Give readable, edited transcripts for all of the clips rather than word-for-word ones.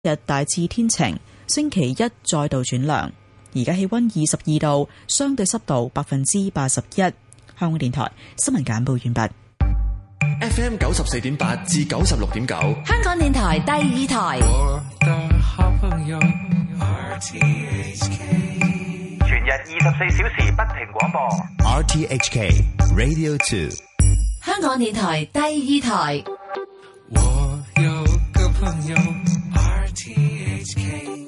日大致天晴，星期一再度轉涼。而家氣溫22度，相對濕度81%。香港電台新聞簡報完畢。 FM 94.8至96.9， 香港電台第二台。 全日24小時不停廣播。 RTHK Radio 2， 香港電台第二台。 我有個朋友 RTHK，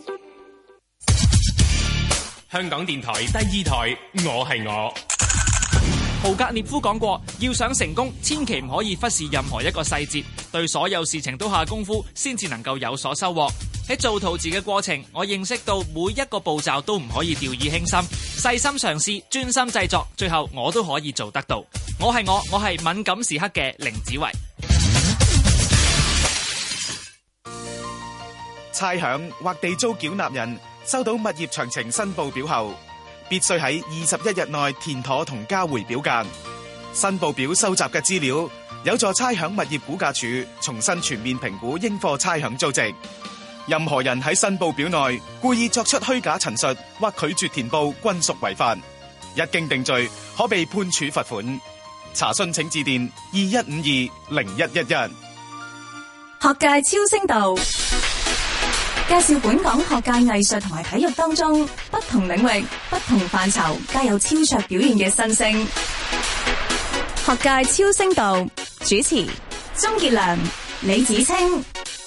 香港電台第二台，我係我。 豪格涅夫講過，要想成功，千祈唔可以忽視任何一個細節，對所有事情都下功夫，先至能夠有所收穫。喺做陶瓷嘅過程，我認識到每一個步驟都唔可以掉以輕心，細心嘗試，專心製作，最後我都可以做得到。我係敏感時刻嘅凌子維。 差餉或地租繳納人收到物業詳情申報表後，必須喺21日內填妥同交回表格。申報表收集嘅資料有助差餉物業估價署重新全面評估應課差餉租值。任何人喺申報表內故意作出虛假陳述或拒絕填報，均屬違法。一經定罪，可被判處罰款。查詢請致電21520111。 學界超聲道介紹本港學界藝術同埋體育當中不同領域、不同範疇皆有超卓表現嘅新星。學界超聲道主持鍾傑良、李芷菁。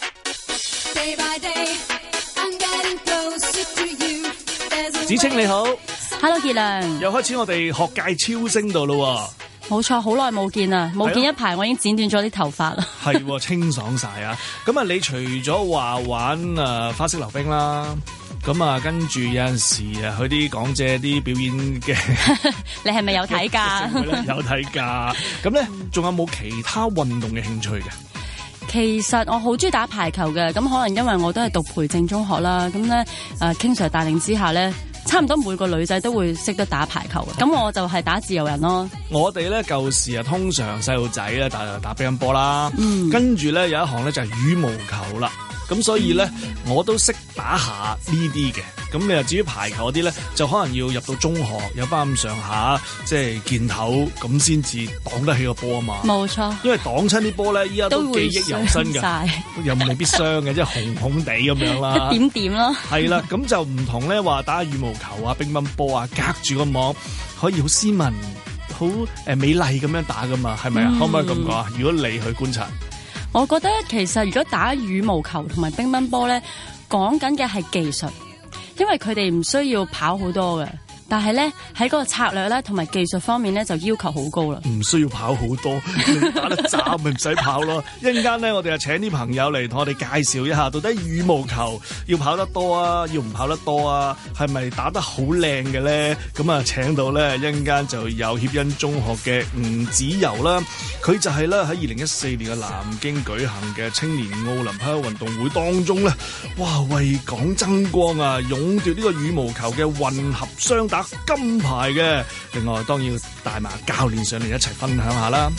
芷菁你好 ，Hello 傑良， 又開始我哋學界超聲道咯。 冇錯，好耐冇見啦，冇見一排，我已經剪短咗啲頭髮啦。 係，清爽晒啊！咁啊，你除咗話玩花式溜冰啦，咁啊，跟住有陣時啊，去啲港姐啲表演嘅， 你係咪有睇㗎？ 有睇㗎。咁咧，仲有冇其他運動嘅興趣嘅？ 其實我好中意打排球嘅，咁可能因為我都係讀培正中學啦，咁咧King Sir 帶領之下咧，差唔多每個女仔都會識得打排球嘅，咁我就係打自由人咯。我哋咧舊時啊，通常細路仔咧打乒乓波啦，跟住咧有一項咧就係羽毛球啦。咁所以咧，我都識打下呢啲嘅。咁你又至於排球嗰啲咧，就可能要入到中學有翻咁上下，即係見頭咁先至擋得起個波啊嘛。冇錯，因為擋親啲波咧，依家都記憶猶新㗎，又未必傷嘅，即係紅紅地咁樣啦，一點點咯。係啦，咁就唔同咧話打羽毛球啊、乒乓波啊，隔住個網可以好斯文、好美麗咁樣打噶嘛，係咪啊？可唔可以咁講啊？如果你去觀察。我覺得其實如果打羽毛球同埋乒乓波咧，講緊嘅係技術，因為佢哋唔需要跑好多嘅，但係咧喺嗰個策略咧同埋技術方面咧就要求好高啦。唔需要跑好多，你打得渣咪唔使跑咯。一陣間咧，我哋就請啲朋友嚟同我哋介紹一下，到底羽毛球要跑得多啊，要唔跑得多啊？係咪打得好靚嘅咧？咁啊，請到咧一陣間就有協恩中學嘅吳子柔啦。佢就係咧喺2014年嘅南京舉行嘅青年奧林匹克運動會當中咧，哇，為港爭光啊，勇奪呢個羽毛球嘅混合雙打金牌嘅。另外當然要帶埋教練上嚟一齊分享下啦。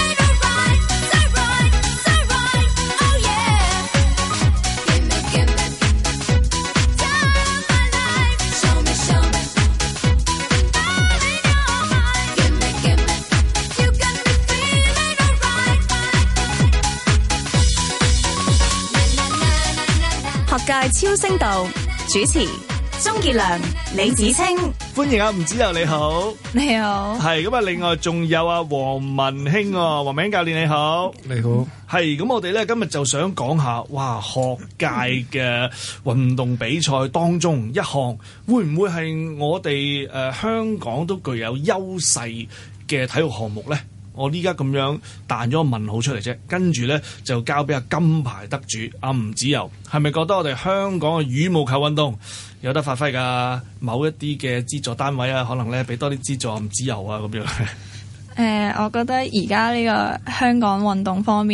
學界超聲道主持鍾傑良、李芷菁。歡迎啊，吳子柔你好。你好。係咁啊，另外仲有啊黃文興，黃文興教練你好。你好。係咁，我哋咧今日就想講下，哇，學界嘅運動比賽當中一項，會唔會係我哋香港都具有優勢嘅體育項目咧？我呢家咁樣彈咗個問號出嚟啫，跟住咧就交俾阿金牌得主阿吳子柔，係咪覺得我哋香港嘅羽毛球運動有得發揮㗎？某一啲嘅資助單位啊，可能咧俾多啲資助吳子柔啊咁樣。 我覺得而家呢個香港運動方面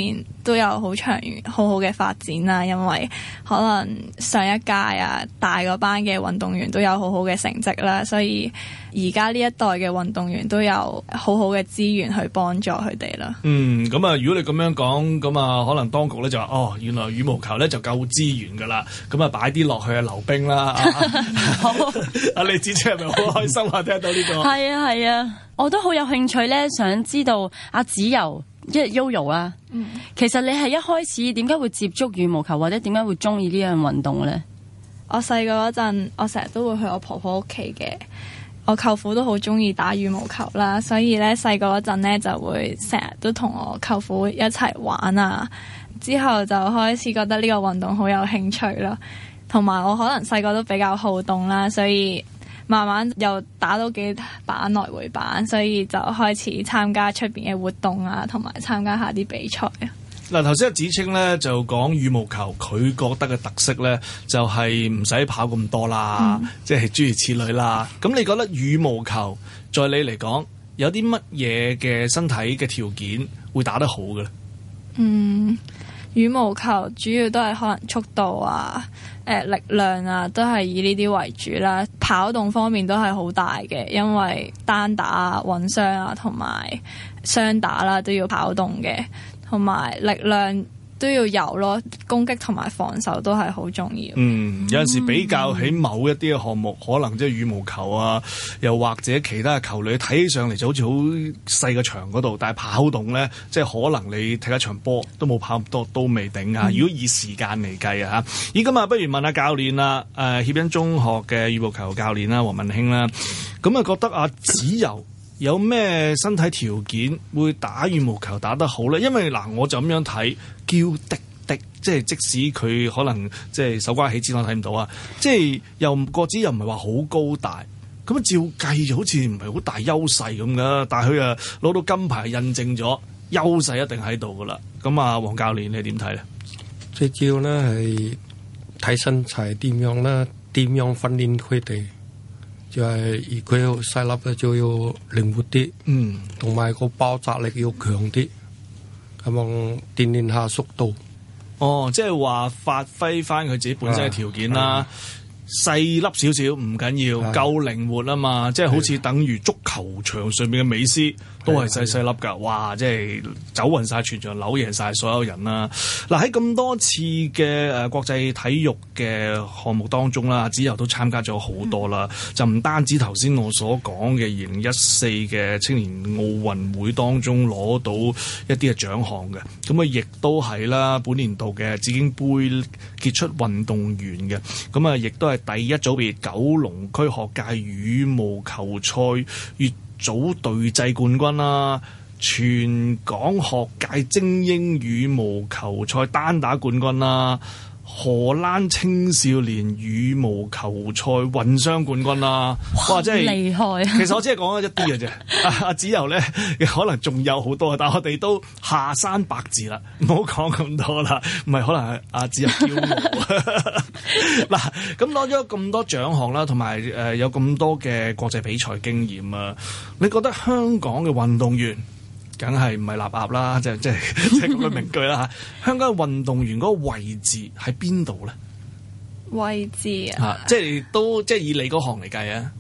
都有好長遠好好嘅發展啦，因為可能上一屆啊大嗰班嘅運動員都有好好嘅成績啦，所以而家呢一代嘅運動員都有好好嘅資源去幫助佢哋啦。 咁啊，如果你咁樣講，咁啊，可能當局咧就話原來羽毛球咧就夠資源噶啦，咁啊擺啲落去溜冰啦。好，阿李芷菁係咪好開心啊？聽到呢個係啊，我都好有興趣咧，想知道阿子柔。Yoyo 啦，其實你係一開始點解會接觸羽毛球，或者點解會中意呢樣運動咧？ 我細個嗰陣，我成日都會去我婆婆屋企嘅，我舅父都好中意打羽毛球啦，所以咧細個嗰陣咧就會成日都同我舅父一齊玩啊，之後就開始覺得呢個運動好有興趣啦，同埋我可能細個都比較好動啦，所以慢慢又打到幾板來回板，所以就開始參加出邊嘅活動啊，同埋參加下啲比賽啊。 嗱，頭先阿芷菁咧就講羽毛球，佢覺得嘅特色咧就係唔使跑咁多啦，即係諸如此類啦。咁你覺得羽毛球在你嚟講有啲乜嘢嘅身體嘅條件會打得好嘅咧？ 羽毛球主要都係可能速度啊、力量啊，都係以呢啲為主啦。跑動方面都係好大嘅，因為單打啊、混雙啊同埋雙打啦都要跑動嘅，同埋力量都要有咯，攻擊同埋防守都係好重要。 有陣時比較起某一啲嘅項目，可能即係羽毛球啊，又或者其他嘅球類，睇起上嚟就好似好細個場嗰度，但係跑動咧，即係可能你踢一場波都冇跑咁多，都未定啊。如果以時間嚟計啊嚇，咦咁啊，不如問下教練啦，協恩中學嘅羽毛球教練啦，黃文興啦，咁啊覺得阿子柔有咩身體條件會打羽毛球打得好咧？因為嗱，我就咁樣睇，嬌滴滴，即係即使佢可能即係手瓜起枝，我睇唔到啊！即係又個子又唔係話好高大，咁照計就好似唔係好大優勢咁噶。但係佢啊攞到金牌，印證咗優勢一定喺度噶啦。咁啊，黃教練你點睇咧？ 最主要咧係睇身材點樣啦，點樣訓練佢哋。就係如果要細粒咧，就要靈活啲，同埋個爆炸力要強啲，咁樣鍛鍊下速度。 即係話發揮翻佢自己本身嘅條件啦。細粒少少唔緊要，夠靈活啊嘛！即係好似等於足球場上面嘅美斯都係細細粒㗎，哇！即係走勻晒全場，扭贏晒所有人啦。嗱，喺咁多次嘅國際體育嘅項目當中啦，子柔都參加咗好多啦。就唔單止頭先我所講嘅2014嘅青年奧運會當中攞到一啲嘅獎項嘅，咁啊亦都係啦本年度嘅紫荊杯傑出運動員嘅，咁啊亦都係第一組別九龍區學界羽毛球賽乙組隊際冠軍啦，全港學界精英羽毛球賽單打冠軍啦，荷蘭青少年羽毛球賽混雙冠軍啦，哇！真係厲害。 其實我只係講咗一啲嘅啫，阿子柔咧可能仲有好多，但係我哋都下山百字啦，唔好講咁多啦，唔係可能係阿子柔驕傲。嗱，咁攞咗咁多獎項啦，同埋有咁多嘅國際比賽經驗啊，你覺得香港嘅運動員梗係唔係立鴨啦，即係咁嘅名句啦嚇。香港嘅運動員嗰個位置喺邊度咧？ 位置啊， 即係以你嗰行嚟計啊。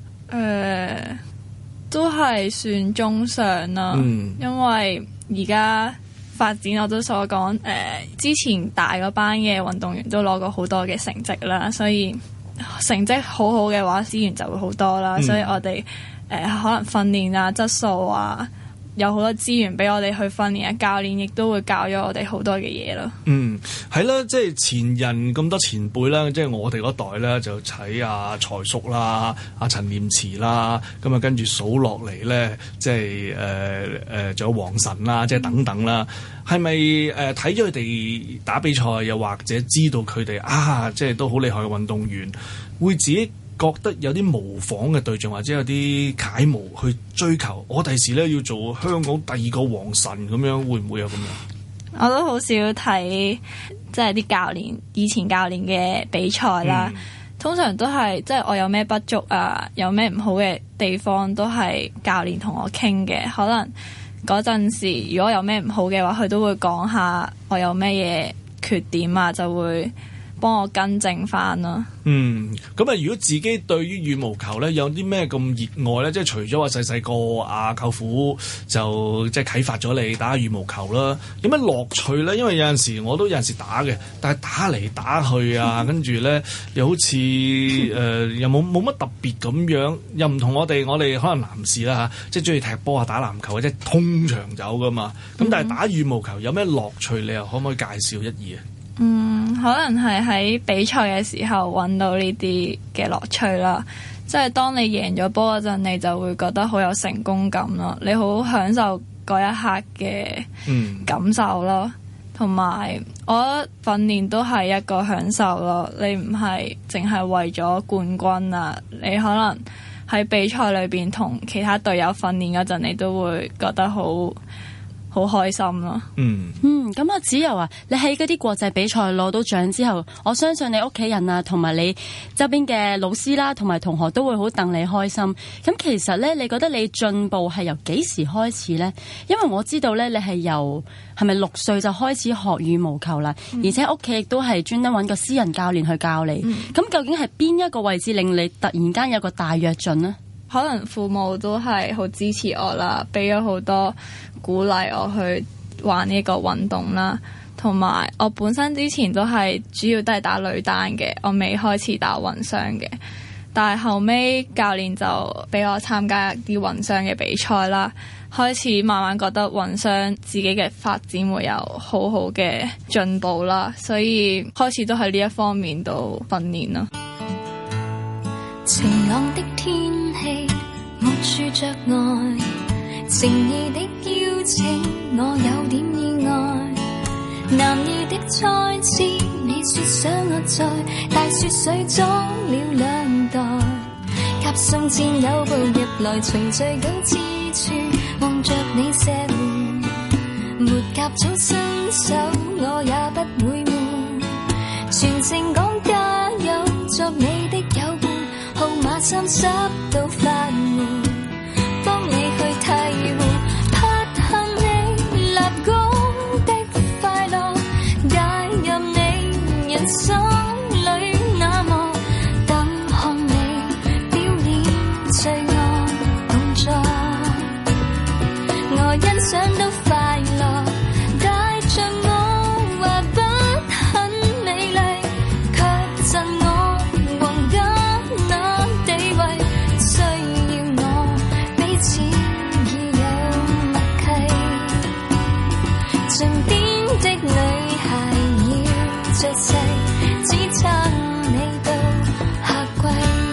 都係算中上啦，因為而家發展我都所講，之前大嗰班嘅運動員都攞過好多嘅成績啦，所以成績好好嘅話，資源就會好多啦。所以我哋可能訓練啊、質素啊，有好多資源俾我哋去訓練啊，教練亦都會教咗我哋好多嘅嘢咯。 係啦，即係前人咁多前輩啦，即係我哋嗰代咧就睇阿財叔啦、阿陳念慈啦，咁啊跟住數落嚟咧，即係仲有王晨啦，即係等等啦。係咪睇咗佢哋打比賽，又或者知道佢哋即係都好厲害嘅運動員，會自己覺得有啲模仿嘅對象，或者有啲楷模去追求？我第時咧要做香港第二個王晨咁樣，會唔會有咁樣？ 我都好少睇即係啲教練以前教練嘅比賽啦，通常都係即係我有咩不足啊，有咩唔好嘅地方，都係教練同我傾嘅。可能嗰陣時，如果有咩唔好嘅話，佢都會講下我有咩嘢缺點啊，就會幫我更正翻咯。 咁啊，如果自己對於羽毛球咧有啲咩咁熱愛咧，即係除咗話細細個阿舅父就即係啟發咗你打羽毛球啦，有咩樂趣咧？因為有陣時我都有陣時打嘅，但係打嚟打去啊，跟住咧又好似又冇乜特別咁樣，又唔同我哋可能男士啦嚇，即係中意踢波啊、打籃球或者通場走噶嘛。咁但係打羽毛球有咩樂趣？你又可唔可以介紹一二啊？ 可能係喺比賽嘅時候揾到呢啲嘅樂趣啦，即係當你贏咗波嗰陣，你就會覺得好有成功感咯，你好享受嗰一刻嘅感受咯，同埋我覺得訓練都係一個享受咯，你唔係淨係為咗冠軍啊，你可能喺比賽裏邊同其他隊友訓練嗰陣，你都會覺得好開心咯。 咁阿子柔啊，你喺嗰啲國際比賽攞到獎之後，我相信你屋企人啊，同埋你周邊嘅老師啦，同埋同學都會好戥你開心。咁其實咧，你覺得你進步係由幾時開始呢？因為我知道咧，你係係咪6歲就開始學羽毛球啦？而且屋企亦都係專登揾個私人教練去教你。咁究竟係邊一個位置令你突然間有個大躍進呢？ 可能父母都係好支持我啦，俾咗好多鼓勵我去玩呢個運動啦，同埋我本身之前都係主要都係打女單嘅，我未開始打混雙嘅，但係後尾教練就俾我參加啲混雙嘅比賽啦，開始慢慢覺得混雙自己嘅發展會有好好嘅進步啦，所以開始都喺呢一方面度訓練啦。 晴朗的天氣，沒處着愛，誠意的邀請，我有點意外。男兒的再次，你說想我在大雪水裝了2袋，夾送戰友步入來，循序九之處，望着你射門，沒夾早伸手，我也不會悶，全程講加油，作你的友伴。號碼30到快門，幫你去替換，拍下你立功的快樂，帶入你人生裏那麼，等看你表演最愛動作，我欣賞到快樂，帶着我話不很美麗，卻贈我宏家。身邊的女孩要着細，只撐你到夏季。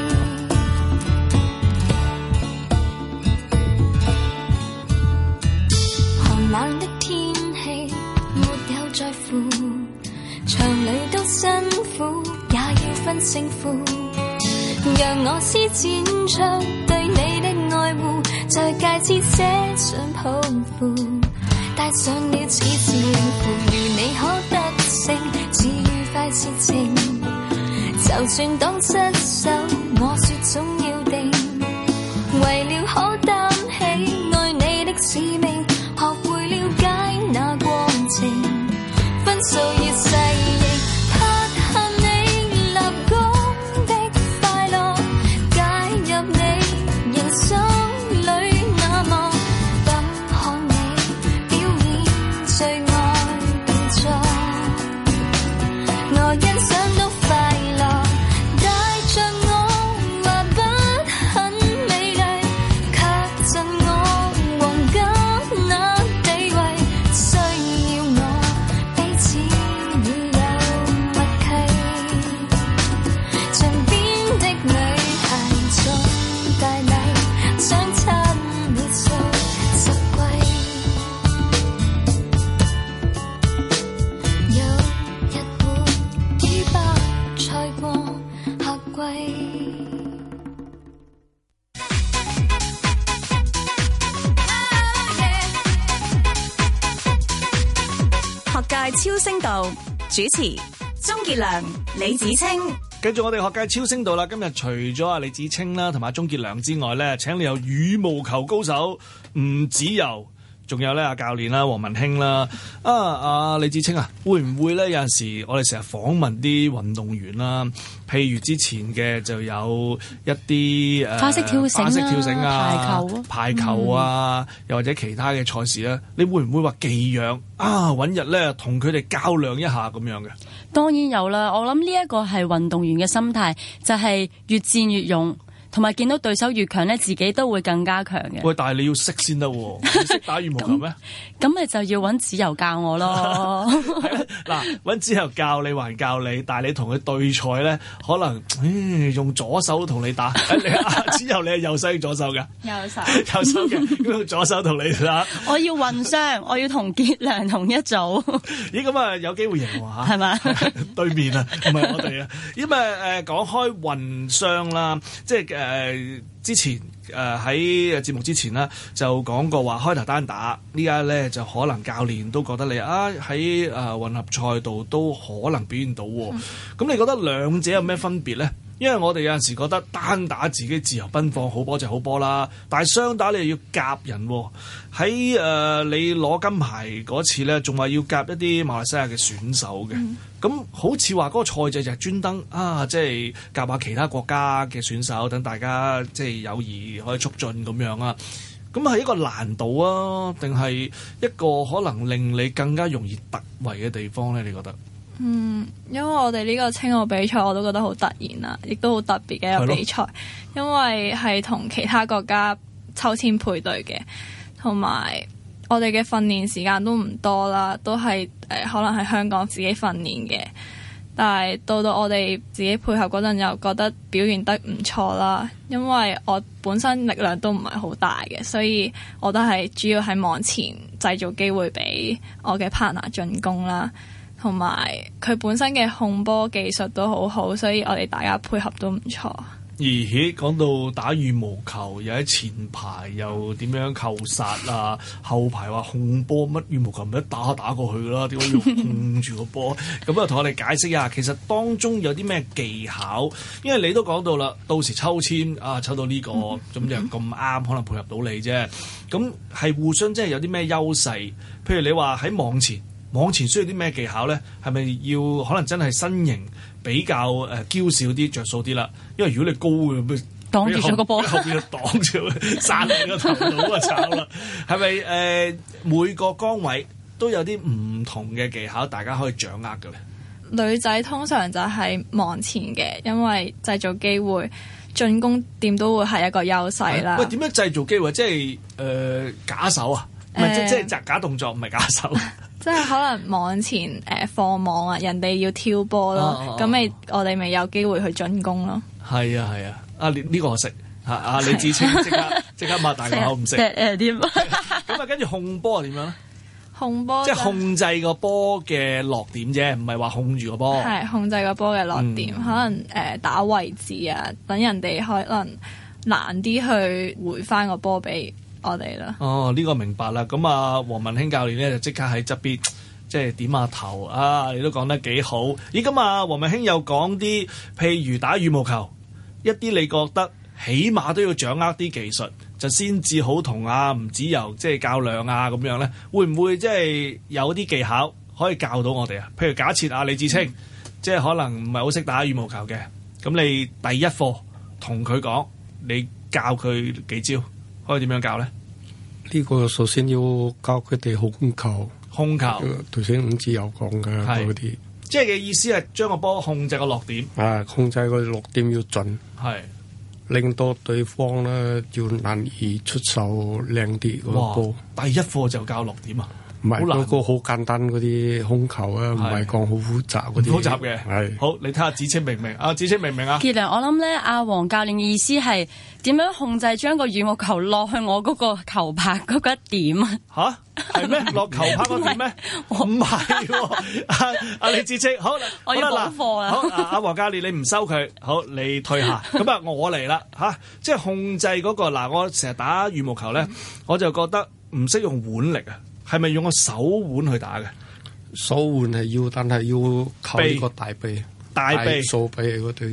寒冷的天氣沒有在乎，場裏都辛苦，也要分勝負。讓我施展出對你的愛護，在戒指寫上抱負。帶上了此次令符，如你可得勝，至愉快事情。就算當失手，我說總要定，為了可擔起愛你的使命，學會了解那過程，分數要細認，拍下你立功的快樂，介入你人生裏那麼。最愛動作，我欣賞到快樂，帶着我話不很美麗，卻贈我皇家那地位，需要我彼此已有默契。場邊的女孩送大禮，想親你數10季。 學界超聲道主持鍾傑良、李芷菁。 繼續我哋學界超聲道啦，今日除咗阿李芷菁啦同埋鍾傑良之外咧，請你有羽毛球高手吳芷柔仲有咧阿教練啦，黃文興啦，阿李芷菁啊，會唔會咧有陣時我哋成日訪問啲運動員啦，譬如之前嘅就有一啲花式跳繩啊、 排球啊，又或者其他嘅賽事咧，你會唔會話寄養揾日咧同佢哋較量一下咁樣嘅？ 當然有啦，我諗呢一個係運動員嘅心態，就係越戰越勇。同埋見到對手越強咧，自己都會更加強嘅。 喂，但係你要識先得喎，你識打羽毛球咩？ 咁咪就要揾子柔教我咯。 嗱，揾子柔教你還教你，但係你同佢對賽咧，可能用左手同你打。子柔你係右手定左手㗎？ 右手嘅，咁用左手同你打。 我要混雙，我要同傑良同一組。 咦，咁啊有機會贏喎嚇？ 係嘛？ 對面啊，唔係我哋啊。咁講開混雙啦，即係之前喺節目之前啦，就講過話開頭單打，呢家咧就可能教練都覺得你喺混合賽度都可能表現到喎。咁你覺得兩者有咩分別咧？因為我哋有陣時覺得單打自己自由奔放，好波就好波啦，但係雙打你又要夾人喎。喺你攞金牌嗰次咧，仲話要夾一啲馬來西亞嘅選手嘅。咁好似話嗰個賽制就係專登即係夾下其他國家嘅選手，等大家即係友誼可以促進咁樣啊。咁係一個難度啊，定係一個可能令你更加容易突圍嘅地方咧？你覺得？ 因為我哋呢個青奧比賽我都覺得好突然啦，亦都好特別嘅一個比賽，因為係同其他國家抽籤配對嘅，同埋我哋嘅訓練時間都唔多啦，都係可能喺香港自己訓練嘅，但係到我哋自己配合嗰陣又覺得表現得唔錯啦，因為我本身力量都唔係好大嘅，所以我都係主要喺網前製造機會俾我嘅 partner 進攻啦。同埋佢本身嘅控波技術都好好，所以我哋大家配合都唔錯。 而講到打羽毛球，又喺前排又點樣扣殺啊，後排話控波，乜羽毛球咪一打過去啦？點解要控住個波？咁啊，同我哋解釋一下，其實當中有啲咩技巧？因為你都講到啦，到時抽籤抽到呢個咁就咁啱，可能配合到你啫。咁係互相即係有啲咩優勢？譬如你話喺網前需要啲咩技巧咧？係咪要可能真係身形比較嬌小啲着數啲啦？因為如果你高嘅， 擋住咗個波， 後邊就擋住，散你個頭腦啊炒啦！係咪每個崗位都有啲唔同嘅技巧，大家可以掌握嘅咧？ 女仔通常就係網前嘅，因為製造機會，進攻點都會係一個優勢啦。 喂，點樣製造機會？即係假手啊？唔係即係假動作，唔係假手。 即係可能網前放網啊，人哋要挑波咯，咁我哋咪有機會去進攻咯。 係啊，呢個我識嚇，李芷菁即刻擘大個口唔識。 點啊？ 咁跟住控波係點樣咧？ 控波即係控制個波嘅落點啫，唔係話控住個波。 係控制個波嘅落點，可能打位置啊，等人哋可能難啲去回翻個波俾我哋啦。 呢個明白啦。咁黃文興教練咧就即刻喺側邊即係點下頭啊！你都講得幾好。咦，咁黃文興又講啲，譬如打羽毛球，一啲你覺得起碼都要掌握啲技術，就先至好同吳子柔即係較量啊咁樣咧。會唔會即係有啲技巧可以教到我哋啊？譬如假設李芷菁即係可能唔係好識打羽毛球嘅，咁你第一課同佢講，你教佢幾招？可以點樣教咧？ 呢個首先要教佢哋控球，頭先伍子柔講嘅嗰啲， 即係嘅意思係將個波控制個落點， 控制個落點要準，令到對方咧要難以出手靚啲個波。 第一課就教落點啊？ 唔係嗰個好簡單嗰啲控球啊，唔係講好複雜嗰啲。 複雜嘅係好，你睇下芷菁明唔明？芷菁明唔明啊？ 傑良，我諗咧，黃教練嘅意思係點樣控制將個羽毛球落去我嗰個球拍嗰個點啊？ 係咩？落球拍嗰點咩？唔係喎，李芷菁，好， 我要補課啦。 好，黃教練你唔收佢，好，你退下。咁我嚟啦即係控制嗰個我成日打羽毛球咧，我就覺得唔識用腕力啊。係咪用個手腕去打嘅？ 手腕係要，但係要靠呢個大臂、掃臂嗰對。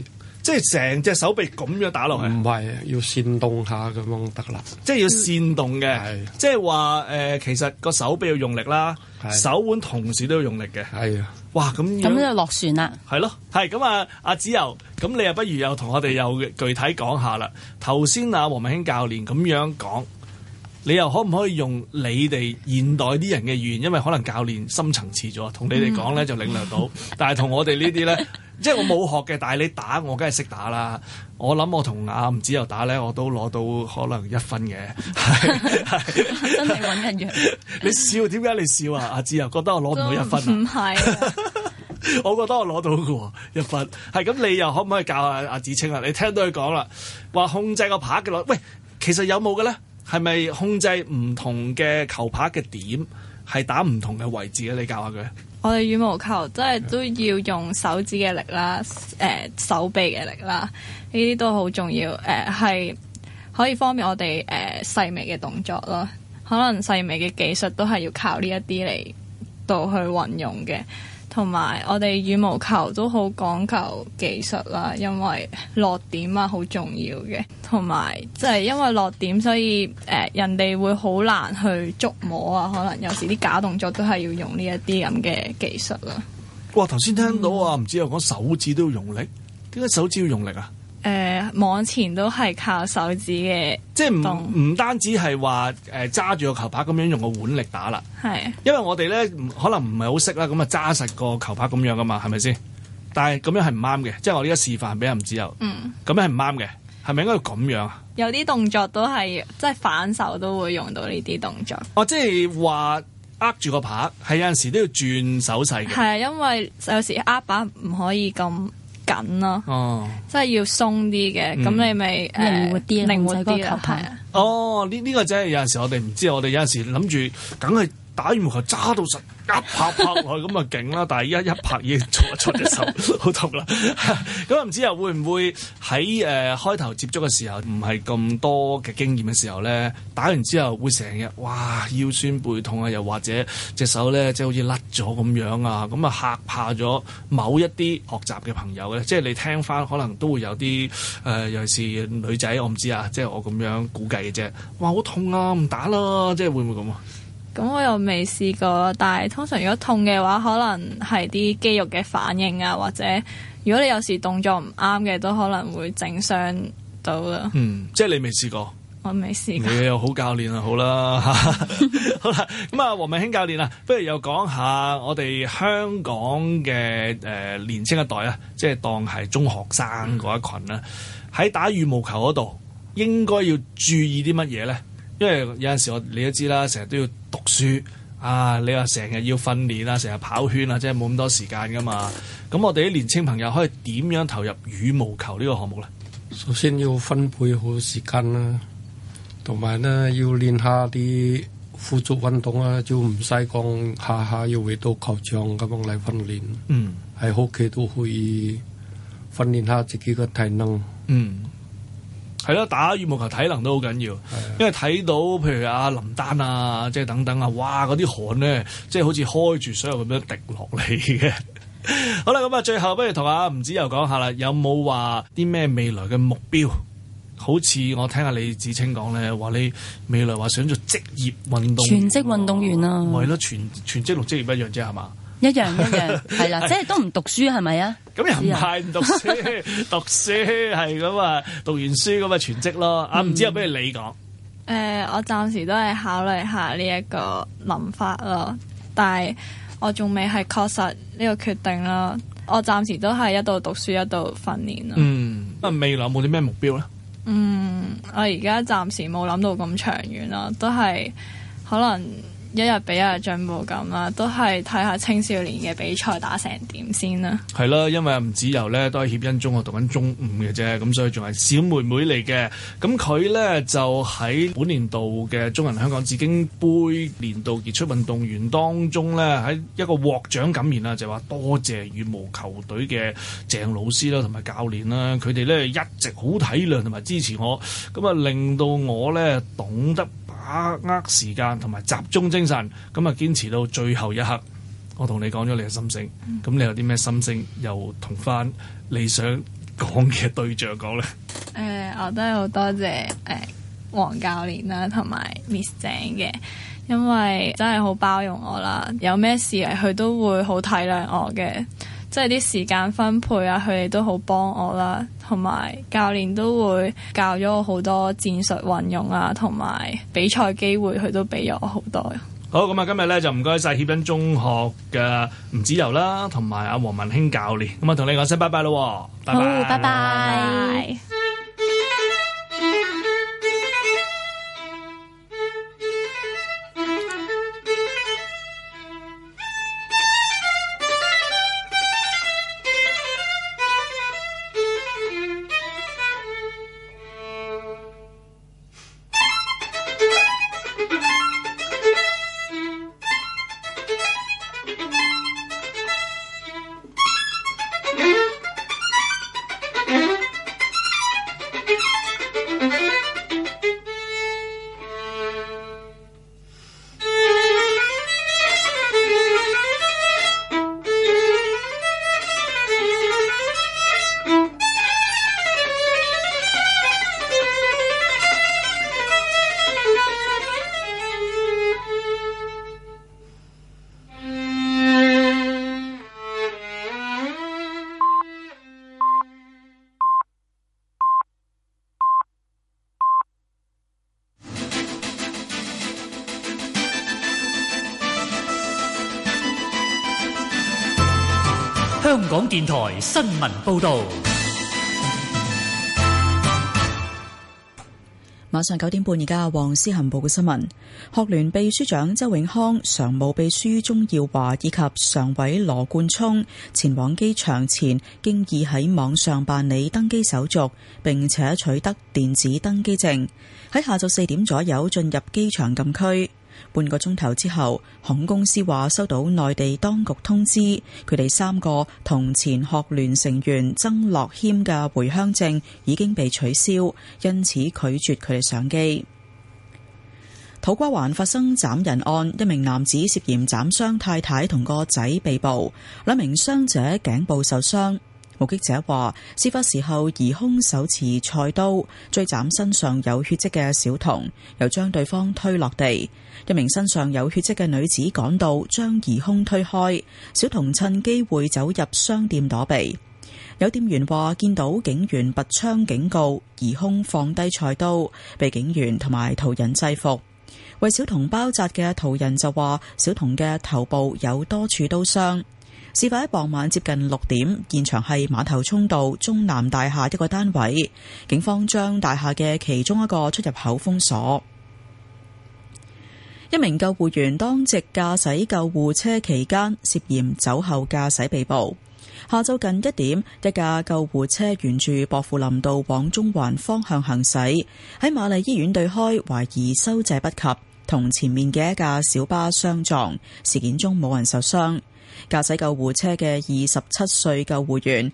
即係成隻手臂咁樣打落去？ 唔係，要煽動下咁樣得啦。 即係要煽動嘅，即係話其實個手臂要用力啦，手腕同時都要用力嘅。 係啊， 哇咁就落船啦。 係咯，係咁啊，阿子柔，咁你又不如又同我哋又具體講下啦。頭先啊，黃文興教練咁樣講。你又可唔可以用你哋現代啲人嘅語言？因為可能教練深層次咗，同你哋講咧就領略到，但係同我哋呢啲咧，即係我冇學嘅，但係你打我梗係識打啦。我諗我同阿吳子柔打咧，我都攞到可能1分嘅。 真係揾人樣。 你笑點解你笑啊？阿子柔覺得我攞唔到1分啊？ 唔係。 我覺得我攞到嘅喎1分。係咁，你又可唔可以教阿子清啊？你聽到佢講啦，話控制個拍嘅攞，喂，其實有冇嘅咧？係咪控制唔同嘅球拍嘅點，係打唔同嘅位置咧？你教下佢。 我哋羽毛球真係都要用手指嘅力啦，手臂嘅力啦，呢啲都好重要。係可以方便我哋細微嘅動作咯。可能細微嘅技術都係要靠呢一啲嚟到去運用嘅。同埋我哋羽毛球都好講求技術啦，因為落點啊好重要嘅，同埋即係因為落點，所以人哋會好難去捉摸啊。可能有時啲假動作都係要用呢一啲咁嘅技術啦。 哇！頭先聽到啊，唔知有講手指都要用力，點解手指要用力啊？ 網前都係靠手指嘅， 即係唔單止係話揸住個球拍咁樣用個腕力打啦。 係，因為我哋咧可能唔係好識啦，咁啊揸實個球拍咁樣噶嘛，係咪先？但係咁樣係唔啱嘅，即係我呢家示範俾人唔知有，咁樣係唔啱嘅，係咪應該要咁樣啊？ 有啲動作都係即係反手都會用到呢啲動作。 哦，即係話握住個拍，係有陣時都要轉手勢嘅。 係啊，因為有時握把唔可以咁緊咯，即係要鬆啲嘅，咁你咪靈活啲啦，係啊。 哦，呢個真係有陣時我哋唔知，我哋有陣時諗住梗係打羽毛球揸到實一拍落去咁啊勁啦，但係依家一拍已經出隻手好痛啦。咁唔知又會唔會喺開頭接觸嘅時候唔係咁多嘅經驗嘅時候咧，打完之後會成日哇腰酸背痛啊，又或者隻手咧即係好似甩咗咁樣啊，咁啊嚇怕咗某一啲學習嘅朋友咧，即係你聽翻可能都會有啲尤其是女仔，我唔知啊，即係我咁樣估計嘅啫。哇好痛啊，唔打啦，即係會唔會咁啊？ 咁我又未試過，但係通常如果痛嘅話，可能係啲肌肉嘅反應啊，或者如果你有時動作唔啱嘅，都可能會整傷到啦。即係你未試過？ 我未試過。 你又好教練啊，好啦，好啦，咁啊，黃文興教練啊，不如又講下我哋香港嘅年青一代啊，即係當係中學生嗰一群啦，喺打羽毛球嗰度應該要注意啲乜嘢咧？因為有陣時你都知啦，成日都要讀書啊，你話成日要訓練啊，成日跑圈啊，即係冇咁多時間噶嘛。咁我哋啲年青朋友可以點樣投入羽毛球呢個項目咧？ 首先要分配好時間啦，同埋咧要練下啲輔助運動啊，就唔使講下下要回到球場咁樣嚟訓練。喺屋企都可以訓練下自己嘅體能。 係咯，打羽毛球體能都好緊要，因為睇到譬如阿林丹啊，即係等等啊，哇嗰啲汗咧，即係好似開住水咁樣滴落嚟嘅。好啦，咁啊，最後不如同阿吳子柔講下啦，有冇話啲咩未來嘅目標？好似我聽下李芷菁講咧，話你未來話想做職業運動員， 全職運動員啊， 係咯，全職同職業一樣啫，係嘛？ 一樣係啦，即係都唔讀書係咪啊？ 咁又唔係唔讀書，讀書係咁啊，讀完書咁啊全職咯。唔知有不如你講？ 我暫時都係考慮下呢一個諗法咯，但係我仲未係確實呢個決定咯。我暫時都係一度讀書一度訓練咯。 未來有冇啲咩目標咧？ 我而家暫時冇諗到咁長遠咯，都係可能一日比一日進步咁啦，都係睇下青少年嘅比賽打成點先啦。係啦，因為吳子柔咧都喺協恩中學讀緊中五嘅啫，咁所以仲係小妹妹嚟嘅。咁佢咧就喺本年度嘅中銀香港紫荊杯年度傑出運動員當中咧，喺一個獲獎感言啦，就話多謝羽毛球隊嘅鄭老師啦同埋教練啦，佢哋咧一直好體諒同埋支持我，咁啊令到我咧懂得把握時間同埋集中精神，咁啊堅持到最後一刻。我同你講咗你嘅心聲，咁你有啲咩心聲又同翻你想講嘅對象講咧？ 我都係好多謝黃教練啦，同埋 Miss 鄭嘅，因為真係好包容我啦，有咩事佢都會好體諒我嘅，即係啲時間分配啊，佢哋都好幫我啦，同埋教練都會教咗我好多戰術運用啊，同埋比賽機會佢都俾咗我好多。 好，咁啊，今日咧就唔該晒協恩中學嘅吳子柔啦，同埋阿黃文興教練，咁啊同你講聲拜拜咯，拜拜， 好，拜拜。 香港電台新聞報導。 晚上9點半，而家黃思恒報嘅新聞。學聯秘書長周永康、常務秘書鍾耀華以及常委羅冠聰前往機場前，經已喺網上辦理登機手續，並且取得電子登機證，喺下晝4點左右進入機場禁區。半個鐘頭之後，航空公司話收到內地當局通知，佢哋3個同前學聯成員曾樂謙嘅回鄉證已經被取消，因此拒絕佢哋上機。土瓜灣發生斬人案，一名男子涉嫌斬傷太太同個仔被捕，2名傷者頸部受傷。目擊者話，事發時候疑兇手持菜刀追斬身上有血跡嘅小童，又將對方推落地。一名身上有血跡嘅女子趕到，將疑兇推開，小童趁機會走入商店躲避。有店員話見到警員拔槍警告，疑兇放低菜刀，被警員同埋途人制服。為小童包紮嘅途人就話，小童嘅頭部有多處刀傷。事發喺傍晚接近6點，現場係馬頭涌道中南大廈一個單位，警方將大廈嘅其中一個出入口封鎖。一名救護員當值駕駛救護車期間涉嫌酒後駕駛被捕。下晝近1點，一架救護車沿住薄扶林道往中環方向行駛，喺瑪麗醫院對開，懷疑收掣不及，同前面嘅一架小巴相撞。事件中冇人受傷。駕駛救護車嘅27歲救護員